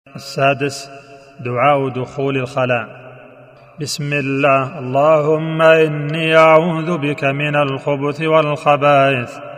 السادس: دعاء دخول الخلاء. بسم الله. اللهم إني أعوذ بك من الخبث والخبائث